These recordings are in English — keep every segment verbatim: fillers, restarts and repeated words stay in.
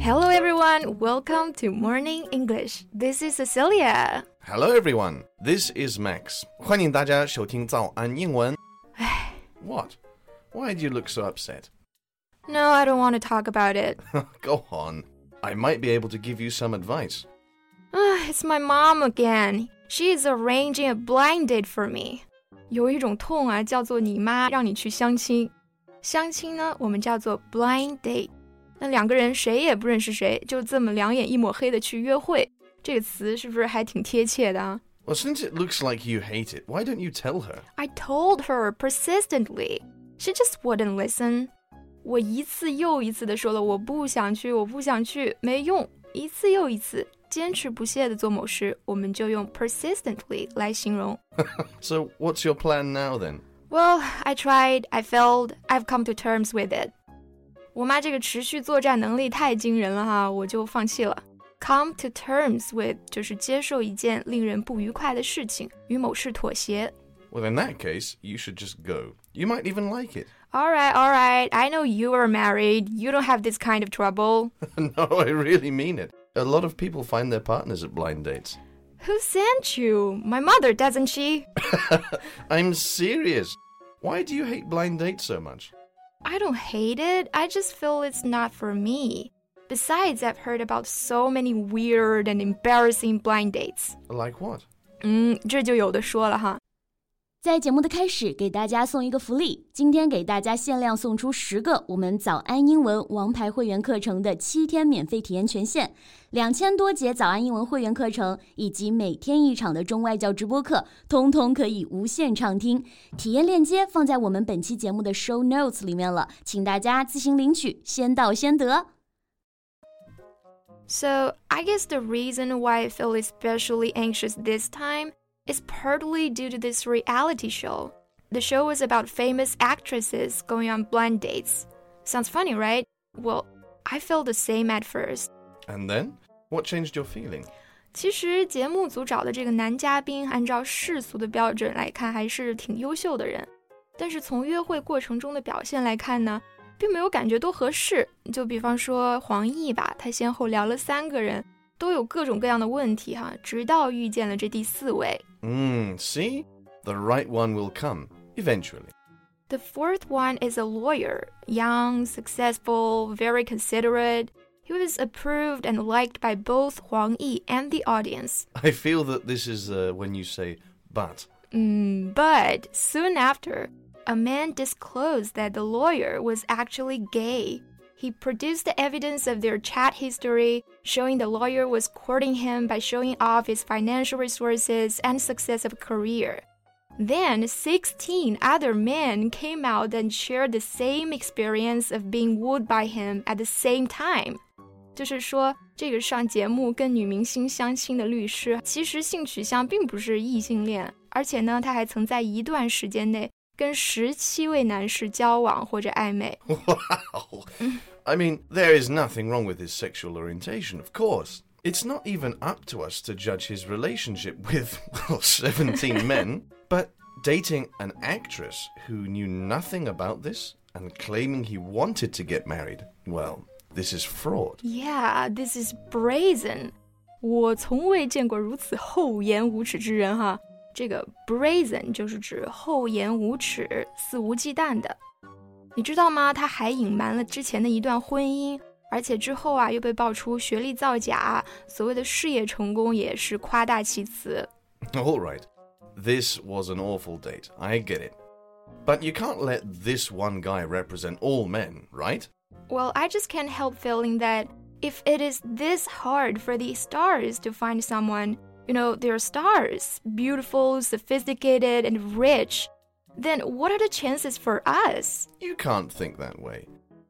Hello everyone, welcome to Morning English. This is Cecilia. Hello everyone, this is Max. 欢迎大家收听早安英文。What? Why do you look so upset? No, I don't want to talk about it. Go on. I might be able to give you some advice. It's my mom again. She is arranging a blind date for me. 有一种痛啊，叫做你妈让你去相亲。相亲呢，我们叫做 blind date。那两个人谁也不认识谁，就这么两眼一抹黑的去约会，这个词是不是还挺贴切的啊？ Well, since it looks like you hate it, why don't you tell her? I told her persistently. She just wouldn't listen. 我一次又一次的说了我不想去，我不想去，没用。一次又一次，坚持不懈的做某事，我们就用 persistently 来形容。 So what's your plan now then? Well, I tried, I failed, I've come to terms with it. 我妈这个持续作战能力太惊人了哈，我就放弃了。Come to terms with 就是接受一件令人不愉快的事情，与某事妥协。 Well, in that case, you should just go. You might even like it. All right, all right. I know you are married. You don't have this kind of trouble. No, I really mean it. A lot of people find their partners at blind dates. Who sent you? My mother, doesn't she? I'm serious. Why do you hate blind dates so much? I don't hate it. I just feel it's not for me. Besides, I've heard about so many weird and embarrassing blind dates. Like what? 嗯，这就有的说了哈。 在节目的开始，给大家送一个福利，今天给大家限量送出十个我们早安英文王牌会员课程的七天免费体验权限，两千多节早安英文会员课程以及每天一场的中外教直播课，通通可以无限畅听。体验链接放在我们本期节目的 show notes 里面了，请大家自行领取，先到先得。 So, I guess the reason why I feel especially anxious this time is partly due to this reality show. The show was about famous actresses going on blind dates. Sounds funny, right? Well, I felt the same at first. And then? What changed your feeling? 其实节目组找的这个男嘉宾按照世俗的标准来看还是挺优秀的人，但是从约会过程中的表现来看呢，并没有感觉多合适。就比方说黄奕吧，他先后聊了三个人，都有各种各样的问题哈，直到遇见了这第四位。 Mm, see? The right one will come, eventually. The fourth one is a lawyer, young, successful, very considerate. He was approved and liked by both Huang Yi and the audience. I feel that this is uh, when you say, but. Mm, but soon after, a man disclosed that the lawyer was actually gay. He produced the evidence of their chat history, showing the lawyer was courting him by showing off his financial resources and success of a career. Then, sixteen other men came out and shared the same experience of being wooed by him at the same time. 就是说，这个上节目跟女明星相亲的律师，其实性取向并不是异性恋，而且呢，他还曾在一段时间内跟十七位男士交往或者暧昧。 Wow! I mean, there is nothing wrong with his sexual orientation, of course. It's not even up to us to judge his relationship with, well, seventeen men. But dating an actress who knew nothing about this and claiming he wanted to get married, well, this is fraud. Yeah, this is brazen. 我从未见过如此厚颜无耻之人哈。这个 brazen 就是指厚颜无耻、肆无忌惮的。你知道吗？他还隐瞒了之前的一段婚姻，而且之后啊又被爆出学历造假，所谓的事业成功也是夸大其词。 All right, this was an awful date. I get it. But you can't let this one guy represent all men, right? Well, I just can't help feeling that if it is this hard for the stars to find someone, you know, they're stars, beautiful, sophisticated, and rich, then what are the chances for us? You can't think that way.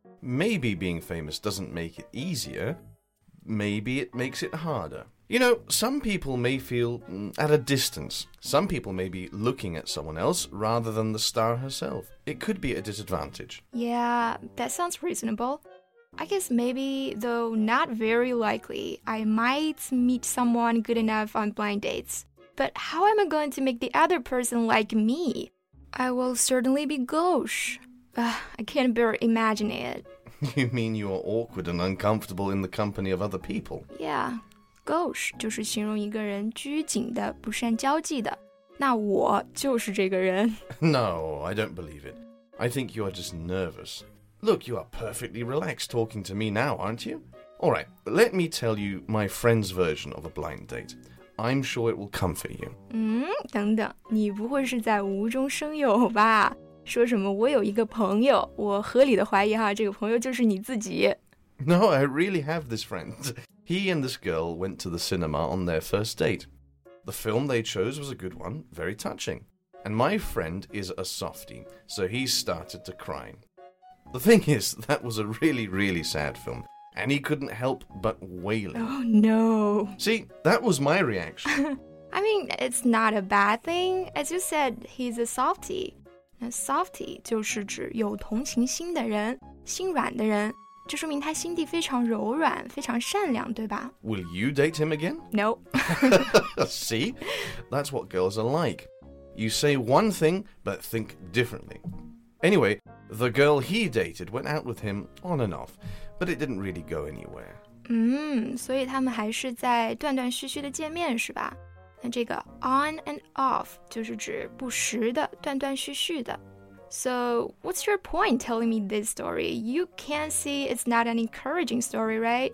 Maybe being famous doesn't make it easier. Maybe it makes it harder. You know, some people may feel mm, at a distance. Some people may be looking at someone else rather than the star herself. It could be a disadvantage. Yeah, that sounds reasonable. I guess maybe, though not very likely, I might meet someone good enough on blind dates. But how am I going to make the other person like me? I will certainly be gauche. Uh, I can't bear imagining it. You mean you are awkward and uncomfortable in the company of other people? Yeah, gauche 就是形容一个人拘谨的、不善交际的。那我就是这个人。 No, I don't believe it. I think you are just nervous. Look, you are perfectly relaxed talking to me now, aren't you? All right, let me tell you my friend's version of a blind date. I'm sure it will comfort you. 嗯，等等，你不会是在无中生有吧？说什么我有一个朋友，我合理的怀疑哈，这个朋友就是你自己。 No, I really have this friend. He and this girl went to the cinema on their first date. The film they chose was a good one, very touching. And my friend is a softie, so he started to cry. The thing is, that was a really, really sad film, and he couldn't help but wailing. Oh, no. See, that was my reaction. I mean, it's not a bad thing. As you said, he's a softie. 那 softie 就是指有同情心的人，心软的人。这说明他心地非常柔软，非常善良，对吧？ Will you date him again? No. See? That's what girls are like. You say one thing, but think differently. Anyway, the girl he dated went out with him on and off, but it didn't really go anywhere. 嗯，所以他们还是在断断续续的见面，是吧？那这个 on and off 就是指不时的、断断续续的。So, what's your point telling me this story? You can see it's not an encouraging story, right?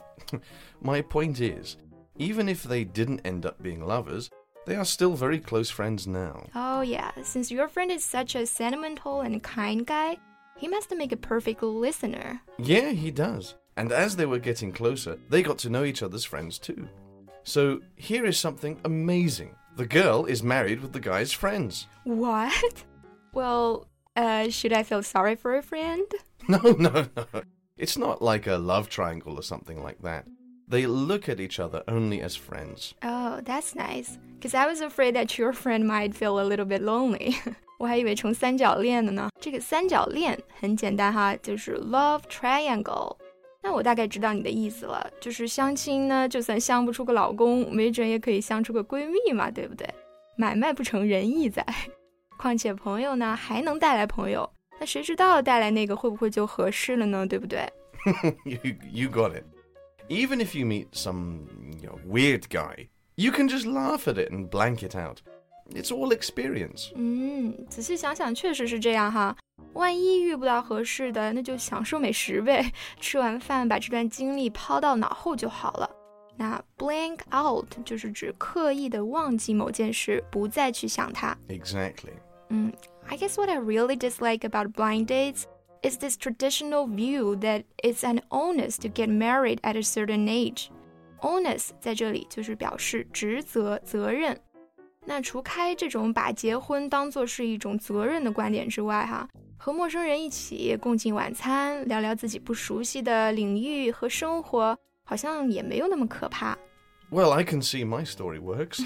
My point is, even if they didn't end up being lovers, they are still very close friends now. Oh yeah, since your friend is such a sentimental and kind guy, he must make a perfect listener. Yeah, he does. And as they were getting closer, they got to know each other's friends too. So, here is something amazing. The girl is married with the guy's friends. What? Well... Uh, should I feel sorry for a friend? No, no, no. It's not like a love triangle or something like that. They look at each other only as friends. Oh, that's nice. Because I was afraid that your friend might feel a little bit lonely. 我还以为成三角恋的呢。这个三角恋很简单哈，就是 love triangle. 那我大概知道你的意思了，就是相亲呢，就算相不出个老公，没准也可以相出个闺蜜嘛，对不对？买卖不成仁义在。况且朋友呢还能带来朋友，那谁知道带来那个会不会就合适了呢？对不对？ you, you got it. Even if you meet some you know, weird guy, you can just laugh at it and blank it out. It's all experience. 嗯，仔细想想确实是这样哈。万一遇不到合适的，那就享受美食呗，吃完饭把这段经历抛到脑后就好了。那 blank out 就是指刻意的忘记某件事，不再去想它。 Exactly. Mm, I guess what I really dislike about blind dates is this traditional view that it's an onus to get married at a certain age. Onus 在这里就是表示职责、责任。那除开这种把结婚当作是一种责任的观点之外，哈，和陌生人一起共进晚餐，聊聊自己不熟悉的领域和生活，好像也没有那么可怕。 Well, I can see my story works.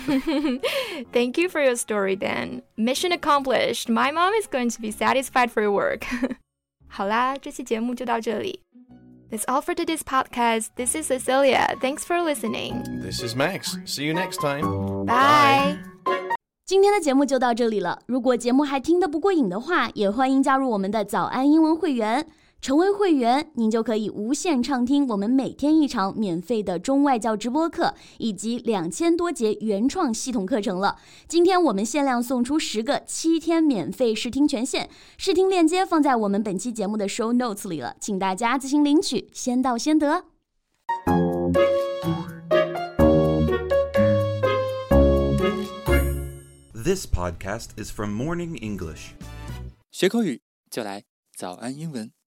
Thank you for your story, Dan. Mission accomplished. My mom is going to be satisfied for your work. 好啦，这期节目就到这里。That's all for today's podcast. This is Cecilia. Thanks for listening. This is Max. See you next time. Bye. 今天的节目就到这里了。如果节目还听得不过瘾的话，也欢迎加入我们的早安英文会员。成为会员，您就可以无限畅听我们每天一场免费的中外教直播课，以及两千多节原创系统课程了。今天我们限量送出十个七天免费试听权限，试听链接放在我们本期节目的 show notes 里了，请大家自行领取，先到先得。 This podcast is from Morning English. 学口语就来早安英文。